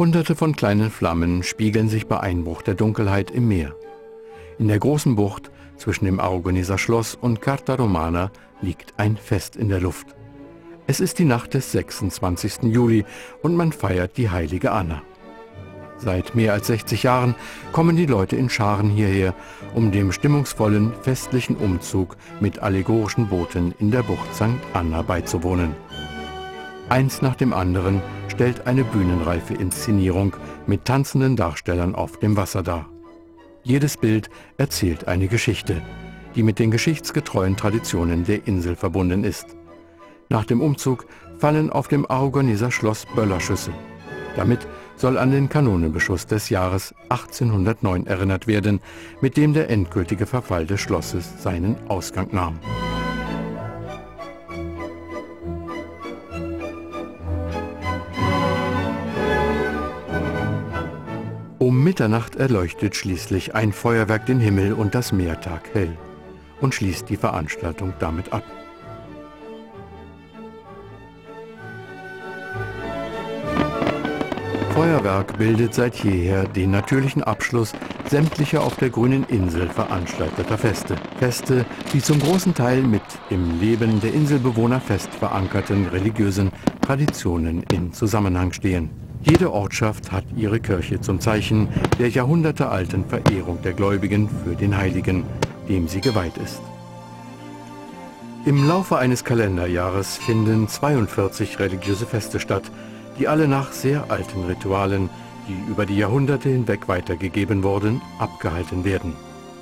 Hunderte von kleinen Flammen spiegeln sich bei Einbruch der Dunkelheit im Meer. In der großen Bucht zwischen dem Aragoneser Schloss und Carta Romana liegt ein Fest in der Luft. Es ist die Nacht des 26. Juli und man feiert die heilige Anna. Seit mehr als 60 Jahren kommen die Leute in Scharen hierher, um dem stimmungsvollen, festlichen Umzug mit allegorischen Booten in der Bucht St. Anna beizuwohnen. Eins nach dem anderen stellt eine bühnenreife Inszenierung mit tanzenden Darstellern auf dem Wasser dar. Jedes Bild erzählt eine Geschichte, die mit den geschichtsgetreuen Traditionen der Insel verbunden ist. Nach dem Umzug fallen auf dem Aragoneser Schloss Böllerschüsse. Damit soll an den Kanonenbeschuss des Jahres 1809 erinnert werden, mit dem der endgültige Verfall des Schlosses seinen Ausgang nahm. Um Mitternacht erleuchtet schließlich ein Feuerwerk den Himmel und das Meer taghell und schließt die Veranstaltung damit ab. Feuerwerk bildet seit jeher den natürlichen Abschluss sämtlicher auf der grünen Insel veranstalteter Feste. Feste, die zum großen Teil mit im Leben der Inselbewohner fest verankerten religiösen Traditionen in Zusammenhang stehen. Jede Ortschaft hat ihre Kirche zum Zeichen der jahrhundertealten Verehrung der Gläubigen für den Heiligen, dem sie geweiht ist. Im Laufe eines Kalenderjahres finden 42 religiöse Feste statt, die alle nach sehr alten Ritualen, die über die Jahrhunderte hinweg weitergegeben wurden, abgehalten werden.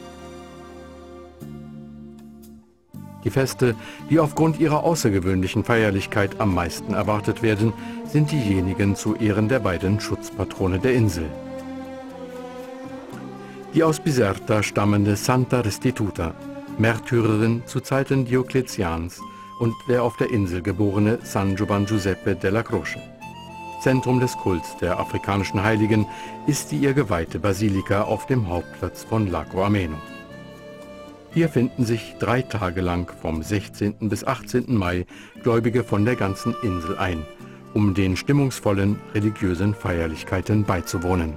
Die Feste, die aufgrund ihrer außergewöhnlichen Feierlichkeit am meisten erwartet werden, sind diejenigen zu Ehren der beiden Schutzpatrone der Insel. Die aus Biserta stammende Santa Restituta, Märtyrerin zu Zeiten Diokletians, und der auf der Insel geborene San Giovan Giuseppe della Croce. Zentrum des Kults der afrikanischen Heiligen ist die ihr geweihte Basilika auf dem Hauptplatz von Lago Ameno. Hier finden sich 3 Tage lang vom 16. bis 18. Mai Gläubige von der ganzen Insel ein, um den stimmungsvollen religiösen Feierlichkeiten beizuwohnen.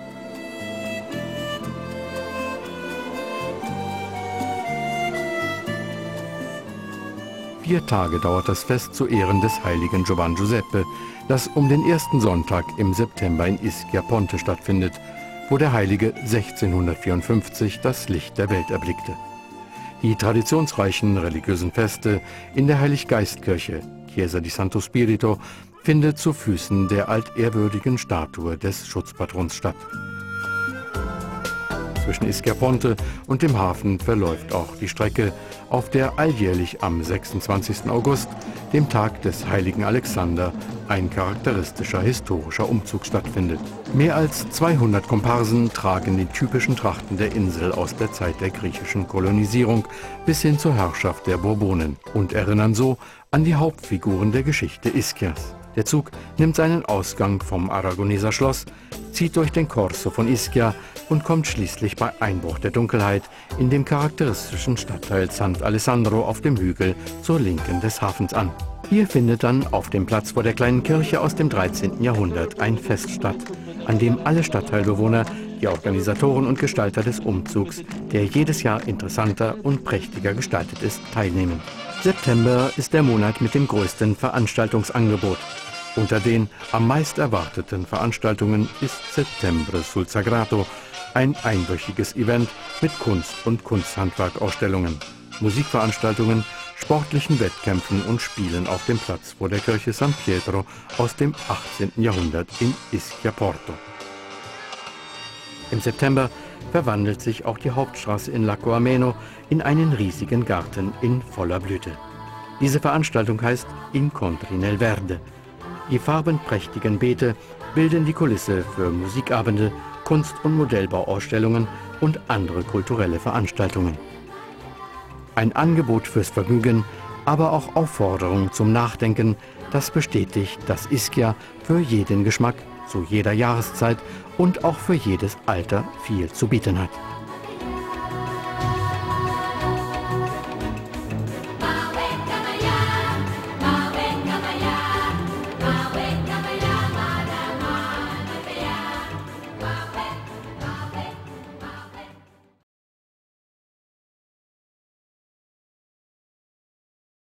Vier Tage dauert das Fest zu Ehren des heiligen Giovan Giuseppe, das um den ersten Sonntag im September in Ischia Ponte stattfindet, wo der Heilige 1654 das Licht der Welt erblickte. Die traditionsreichen religiösen Feste in der Heiliggeistkirche, Chiesa di Santo Spirito, findet zu Füßen der altehrwürdigen Statue des Schutzpatrons statt. Zwischen Ischia Ponte und dem Hafen verläuft auch die Strecke, auf der alljährlich am 26. August, dem Tag des heiligen Alexander, ein charakteristischer historischer Umzug stattfindet. Mehr als 200 Komparsen tragen die typischen Trachten der Insel aus der Zeit der griechischen Kolonisierung bis hin zur Herrschaft der Bourbonen und erinnern so an die Hauptfiguren der Geschichte Ischias. Der Zug nimmt seinen Ausgang vom Aragoneser Schloss, zieht durch den Corso von Ischia und kommt schließlich bei Einbruch der Dunkelheit in dem charakteristischen Stadtteil Sant'Alessandro auf dem Hügel zur Linken des Hafens an. Hier findet dann auf dem Platz vor der kleinen Kirche aus dem 13. Jahrhundert ein Fest statt, an dem alle Stadtteilbewohner, die Organisatoren und Gestalter des Umzugs, der jedes Jahr interessanter und prächtiger gestaltet ist, teilnehmen. September ist der Monat mit dem größten Veranstaltungsangebot. Unter den am meist erwarteten Veranstaltungen ist Settembre sul Sagrato, ein einwöchiges Event mit Kunst- und Kunsthandwerkausstellungen, Musikveranstaltungen, sportlichen Wettkämpfen und Spielen auf dem Platz vor der Kirche San Pietro aus dem 18. Jahrhundert in Ischia Porto. Im September verwandelt sich auch die Hauptstraße in Lago Ameno in einen riesigen Garten in voller Blüte. Diese Veranstaltung heißt Incontri nel Verde. Die farbenprächtigen Beete bilden die Kulisse für Musikabende, Kunst- und Modellbauausstellungen und andere kulturelle Veranstaltungen. Ein Angebot fürs Vergnügen, aber auch Aufforderung zum Nachdenken, das bestätigt, dass Ischia für jeden Geschmack, zu jeder Jahreszeit und auch für jedes Alter viel zu bieten hat.